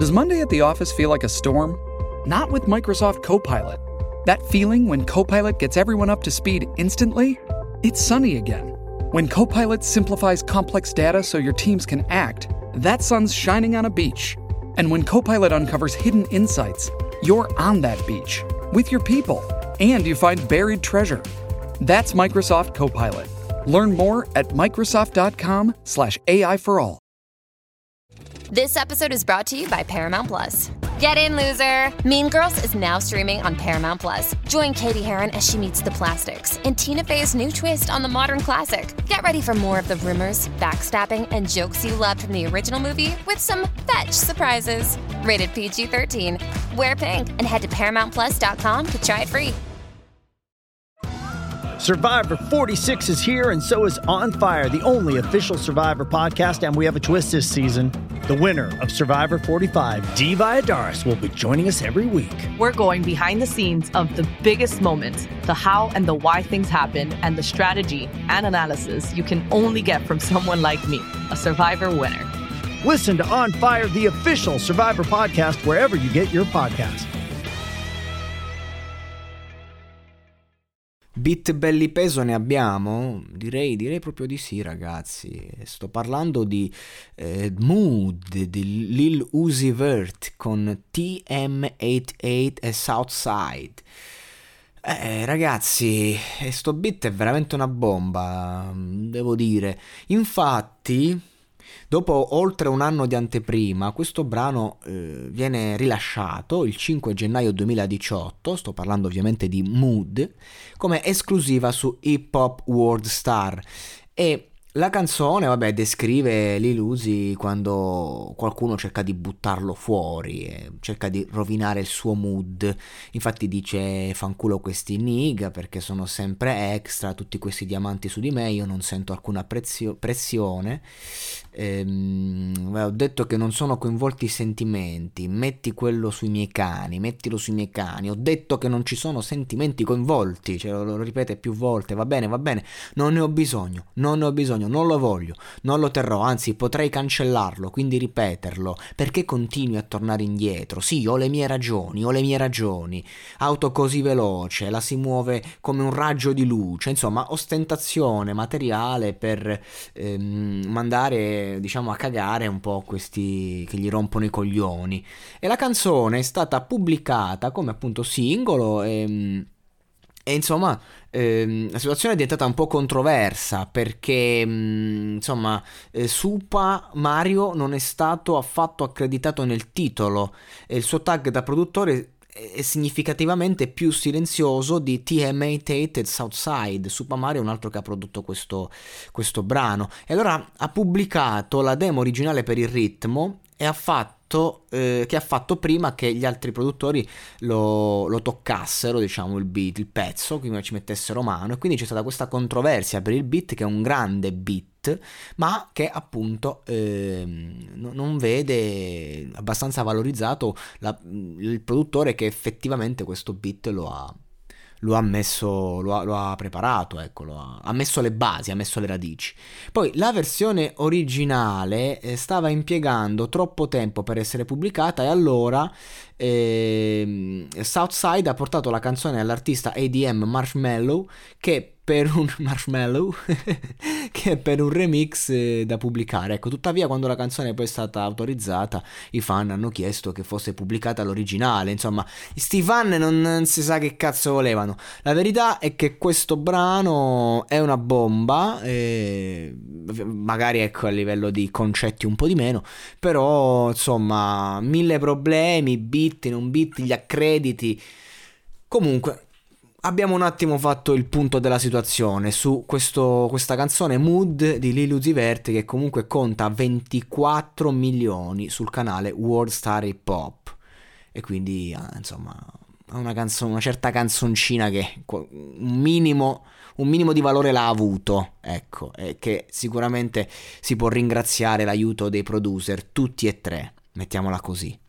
Does Monday at the office feel like a storm? Not with Microsoft Copilot. That feeling when Copilot gets everyone up to speed instantly? It's sunny again. When Copilot simplifies complex data so your teams can act, that sun's shining on a beach. And when Copilot uncovers hidden insights, you're on that beach with your people, and you find buried treasure. That's Microsoft Copilot. Learn more at Microsoft.com/AI for all. This episode is brought to you by Paramount Plus. Get in, loser! Mean Girls is now streaming on Paramount Plus. Join Katie Heron as she meets the plastics in Tina Fey's new twist on the modern classic. Get ready for more of the rumors, backstabbing, and jokes you loved from the original movie with some fetch surprises. Rated PG-13. Wear pink and head to ParamountPlus.com to try it free. Survivor 46 is here, and so is On Fire, the only official Survivor podcast, and we have a twist this season. The winner of Survivor 45, Dee Valladares, will be joining us every week. We're going behind the scenes of the biggest moments, the how and the why things happen, and the strategy and analysis you can only get from someone like me, a Survivor winner. Listen to On Fire, the official Survivor podcast, wherever you get your podcast. Beat belli peso ne abbiamo? Direi proprio di sì, ragazzi. Sto parlando di Mood di Lil Uzi Vert con TM88 e Southside. Ragazzi, sto beat è veramente una bomba, devo dire. Infatti, dopo oltre un anno di anteprima, questo brano viene rilasciato il 5 gennaio 2018, sto parlando ovviamente di Mood, come esclusiva su Hip Hop World Star. E la canzone, vabbè, descrive Lil Uzi quando qualcuno cerca di buttarlo fuori, cerca di rovinare il suo mood. Infatti dice: fanculo questi nigga perché sono sempre extra, tutti questi diamanti su di me, io non sento alcuna pressione. Ho detto che non sono coinvolti i sentimenti, mettilo sui miei cani. Ho detto che non ci sono sentimenti coinvolti, cioè, lo ripete più volte. Va bene, non ne ho bisogno, non lo voglio, non lo terrò, anzi potrei cancellarlo, quindi ripeterlo, perché continui a tornare indietro? Sì, ho le mie ragioni, auto così veloce, la si muove come un raggio di luce, insomma ostentazione materiale per mandare, diciamo, a cagare un po' questi che gli rompono i coglioni. E la canzone è stata pubblicata come appunto singolo e insomma la situazione è diventata un po' controversa perché Super Mario non è stato affatto accreditato nel titolo e il suo tag da produttore è significativamente più silenzioso di TM88 e Southside. Super Mario è un altro che ha prodotto questo brano, e allora ha pubblicato la demo originale per il ritmo e che ha fatto prima che gli altri produttori lo toccassero, diciamo, il beat, il pezzo, quindi ci mettessero mano, e quindi c'è stata questa controversia per il beat, che è un grande beat, ma che appunto non vede abbastanza valorizzato il produttore che effettivamente questo beat lo ha preparato, ecco, ha messo le basi, ha messo le radici. Poi la versione originale stava impiegando troppo tempo per essere pubblicata, e allora Southside ha portato la canzone all'artista ADM Marshmello che per un remix da pubblicare. Ecco, tuttavia quando la canzone poi è stata autorizzata, i fan hanno chiesto che fosse pubblicata l'originale. Insomma, sti fan non si sa che cazzo volevano. La verità è che questo brano è una bomba, magari ecco a livello di concetti un po' di meno, però insomma 1000 problemi, beat, non beat, gli accrediti. Comunque abbiamo un attimo fatto il punto della situazione su questa canzone Mood di Lil Uzi Vert, che comunque conta 24 milioni sul canale World Star Hip Hop, e quindi insomma è una certa canzoncina che un minimo di valore l'ha avuto, ecco, e che sicuramente si può ringraziare l'aiuto dei producer, tutti e tre, mettiamola così.